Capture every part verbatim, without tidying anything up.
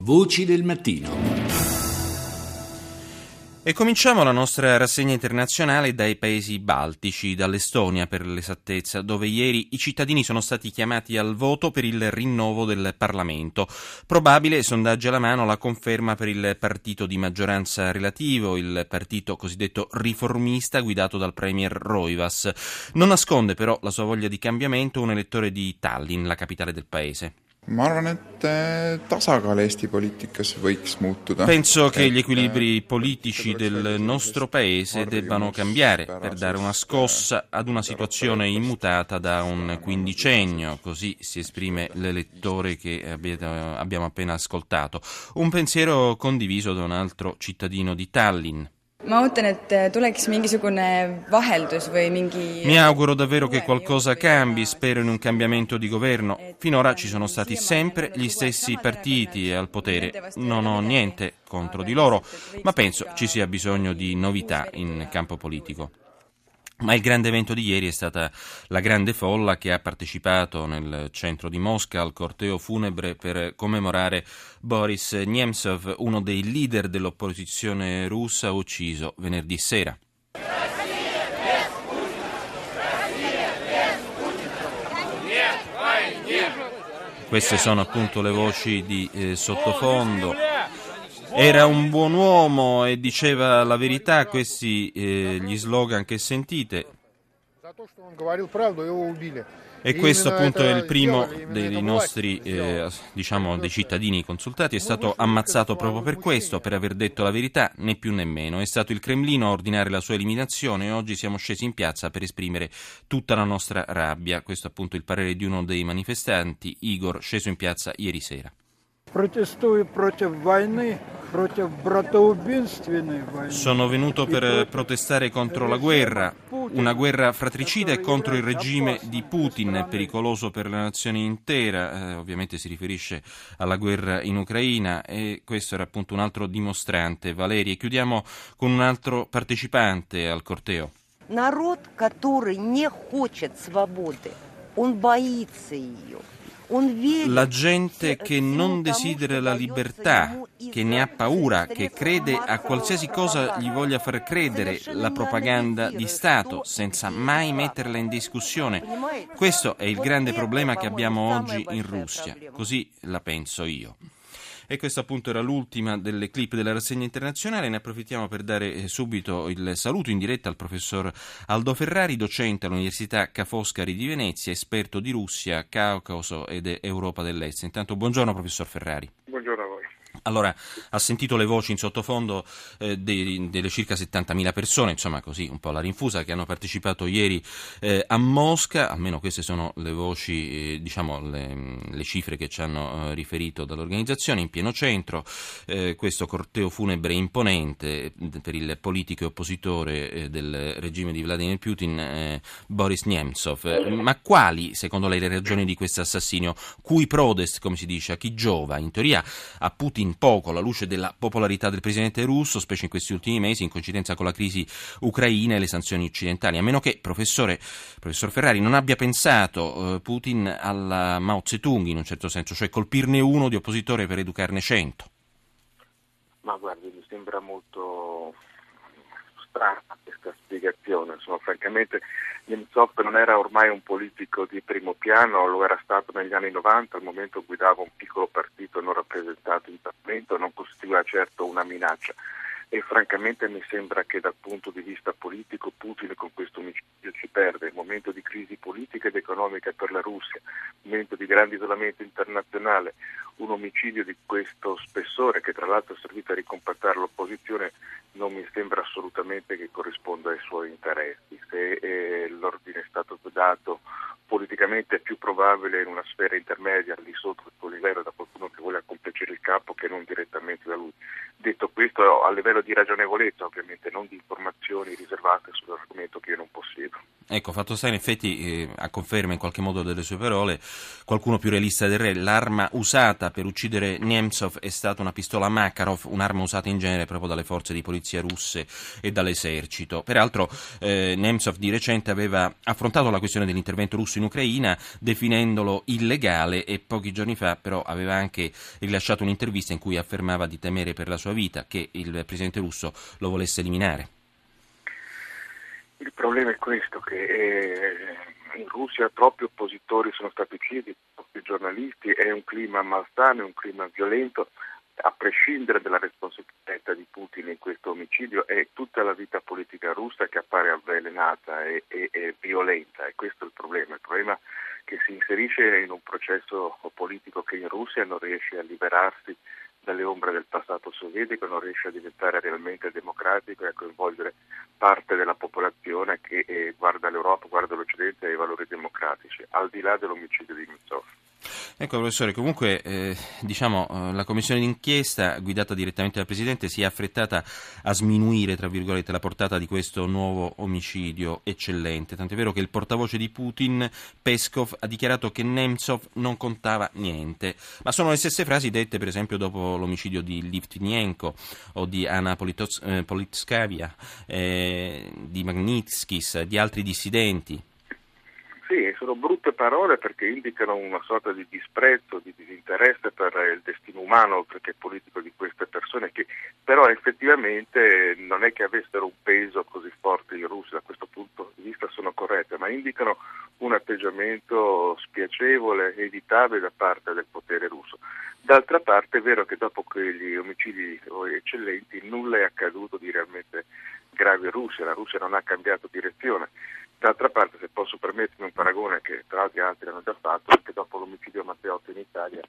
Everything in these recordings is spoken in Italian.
Voci del mattino. E cominciamo la nostra rassegna internazionale dai paesi baltici, dall'Estonia per l'esattezza, dove ieri i cittadini sono stati chiamati al voto per il rinnovo del Parlamento. Probabile, sondaggi alla mano, la conferma per il partito di maggioranza relativo, il partito cosiddetto riformista guidato dal premier Roivas. Non nasconde però la sua voglia di cambiamento un elettore di Tallinn, la capitale del paese. Ma arvan, et tasakaal Eesti poliitikas võiks muutuda. Penso che gli equilibri politici del nostro paese debbano cambiare per dare una scossa ad una situazione immutata da un quindicennio, così si esprime l'elettore che abbiamo appena ascoltato. Un pensiero condiviso da un altro cittadino di Tallinn. Ma ootan, et tuleks mingisugune vaheldus või mingi... Mi auguro davvero che qualcosa cambi, spero in un cambiamento di governo. Finora ci sono stati sempre gli stessi partiti al potere. Non ho niente contro di loro, ma penso ci sia bisogno di novità in campo politico. Ma il grande evento di ieri è stata la grande folla che ha partecipato nel centro di Mosca al corteo funebre per commemorare Boris Nemtsov, uno dei leader dell'opposizione russa ucciso venerdì sera. Queste sono appunto le voci di eh, sottofondo. Era un buon uomo e diceva la verità, questi eh, gli slogan che sentite. E questo appunto è il primo dei nostri, eh, diciamo, dei cittadini consultati, è stato ammazzato proprio per questo, per aver detto la verità, né più né meno. È stato il Cremlino a ordinare la sua eliminazione e oggi siamo scesi in piazza per esprimere tutta la nostra rabbia. Questo è appunto il parere di uno dei manifestanti, Igor, sceso in piazza ieri sera. Sono venuto per protestare contro la guerra, una guerra fratricida e contro il regime di Putin, pericoloso per la nazione intera, eh, ovviamente si riferisce alla guerra in Ucraina, e questo era appunto un altro dimostrante, Valeria. E chiudiamo con un altro partecipante al corteo. Народ, который не хочет свободы, он боится ее. La gente che non desidera la libertà, che ne ha paura, che crede a qualsiasi cosa gli voglia far credere la propaganda di Stato, senza mai metterla in discussione. Questo è il grande problema che abbiamo oggi in Russia, così la penso io. E questa appunto era l'ultima delle clip della rassegna internazionale. Ne approfittiamo per dare subito il saluto in diretta al professor Aldo Ferrari, docente all'Università Ca' Foscari di Venezia, esperto di Russia, Caucaso ed Europa dell'Est. Intanto buongiorno professor Ferrari. Buongiorno a voi. Allora, ha sentito le voci in sottofondo eh, dei, delle circa settantamila persone, insomma così un po' la rinfusa, che hanno partecipato ieri eh, a Mosca, almeno queste sono le voci, eh, diciamo le, le cifre che ci hanno eh, riferito dall'organizzazione, in pieno centro, eh, questo corteo funebre imponente per il politico e oppositore eh, del regime di Vladimir Putin, eh, Boris Nemtsov. Ma quali, secondo lei, le ragioni di questo assassinio? Cui prodest, come si dice, a chi giova? In teoria a Putin poco, alla luce della popolarità del presidente russo, specie in questi ultimi mesi, in coincidenza con la crisi ucraina e le sanzioni occidentali. A meno che, professore, professor Ferrari, non abbia pensato eh, Putin alla Mao Zedong, in un certo senso, cioè colpirne uno di oppositore per educarne cento. Ma guardi, mi sembra molto strana questa spiegazione. Insomma, francamente Nemtsov non era ormai un politico di primo piano, lo era stato negli anni novanta, al momento guidava un piccolo partito non rappresentato in Parlamento, non costituiva certo una minaccia. E francamente mi sembra che dal punto di vista politico Putin con questo omicidio ci perde. Il momento di crisi politica ed economica per la Russia, il momento di grande isolamento internazionale, un omicidio di questo spessore, che tra l'altro è servito a ricompattare l'opposizione, non mi sembra assolutamente che corrisponda ai suoi interessi. Se eh, l'ordine è stato dato politicamente, è più probabile in una sfera intermedia, al di sotto del suo livello, da qualcuno che vuole accompaggiare il capo, che non direttamente da lui. Detto questo, a livello di ragionevolezza, ovviamente, non di informazioni riservate sull'argomento che io non possiedo. Ecco, fatto sta in effetti, eh, a conferma in qualche modo delle sue parole, qualcuno più realista del re, l'arma usata per uccidere Nemtsov è stata una pistola Makarov, un'arma usata in genere proprio dalle forze di polizia russe e dall'esercito. Peraltro eh, Nemtsov di recente aveva affrontato la questione dell'intervento russo in Ucraina definendolo illegale e pochi giorni fa però aveva anche rilasciato un'intervista in cui affermava di temere per la sua vita, che il presidente russo lo volesse eliminare. Il problema è questo, che eh, in Russia troppi oppositori sono stati uccisi, troppi giornalisti, è un clima malsano, è un clima violento, a prescindere dalla responsabilità di Putin in questo omicidio, è tutta la vita politica russa che appare avvelenata e, e, e violenta, e questo è il problema. Il problema è che si inserisce in un processo politico che in Russia non riesce a liberarsi dalle ombre del passato sovietico, non riesce a diventare realmente democratico e a coinvolgere parte della popolazione che eh, guarda l'Europa, guarda l'Occidente e i valori democratici, al di là dell'omicidio di Nemtsov. Ecco professore, comunque eh, diciamo eh, la commissione d'inchiesta guidata direttamente dal Presidente si è affrettata a sminuire tra virgolette la portata di questo nuovo omicidio eccellente, tant'è vero che il portavoce di Putin, Peskov, ha dichiarato che Nemtsov non contava niente, ma sono le stesse frasi dette per esempio dopo l'omicidio di Litvinenko o di Anna Politos- eh, Politskaya, eh, di Magnitskis, di altri dissidenti. Sì, sono brutte parole perché indicano una sorta di disprezzo, di disinteresse per il destino umano oltre che politico di queste persone, che però effettivamente non è che avessero un peso così forte in Russia, da questo punto di vista sono corrette, ma indicano un atteggiamento spiacevole, evitabile da parte del potere russo. D'altra parte è vero che dopo quegli omicidi eccellenti nulla è accaduto di realmente grave in Russia, la Russia non ha cambiato direzione. D'altra parte, se posso permettermi un paragone che tra l'altro altri hanno già fatto, anche dopo l'omicidio Matteotti in Italia,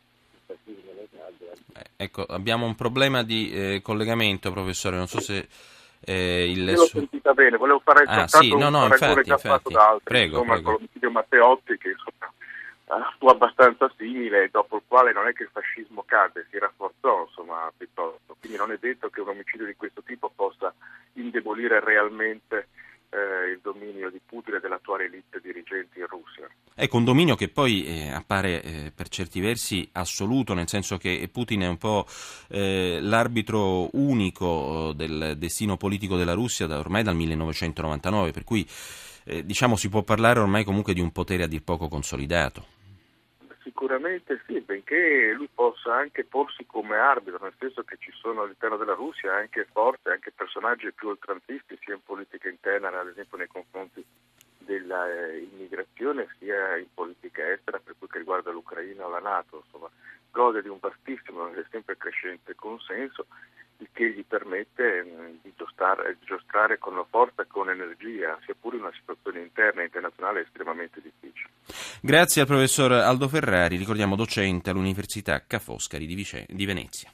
eh, ecco, abbiamo un problema di eh, collegamento, professore, non so se eh, il... Io l'ho sentita bene, volevo fare ah, soltanto sì, no, un no, paragone infatti, già infatti. fatto da altri, Prego, insomma, prego. con l'omicidio Matteotti che insomma fu abbastanza simile, dopo il quale non è che il fascismo cadde, si rafforzò insomma piuttosto, quindi non è detto che un omicidio di questo tipo possa indebolire realmente Eh, il dominio di Putin e dell'attuale elite dirigenti in Russia. Ecco, un dominio che poi eh, appare eh, per certi versi assoluto, nel senso che Putin è un po' eh, l'arbitro unico del destino politico della Russia da, ormai dal millenovecentonovantanove, per cui eh, diciamo si può parlare ormai comunque di un potere a dir poco consolidato. Sicuramente sì, benché lui possa anche porsi come arbitro, nel senso che ci sono all'interno della Russia anche forze, anche personaggi più oltranzisti, sia in politica interna, ad esempio nei confronti dell'immigrazione, sia in politica estera, per quel che riguarda l'Ucraina o la NATO, insomma, gode di un vastissimo e sempre crescente consenso, il che gli permette di giostrare, di giostrare con la forza e con energia, sia pure in una situazione interna e internazionale estremamente difficile. Grazie al professor Aldo Ferrari, ricordiamo docente all'Università Ca' Foscari di, Vice- di Venezia.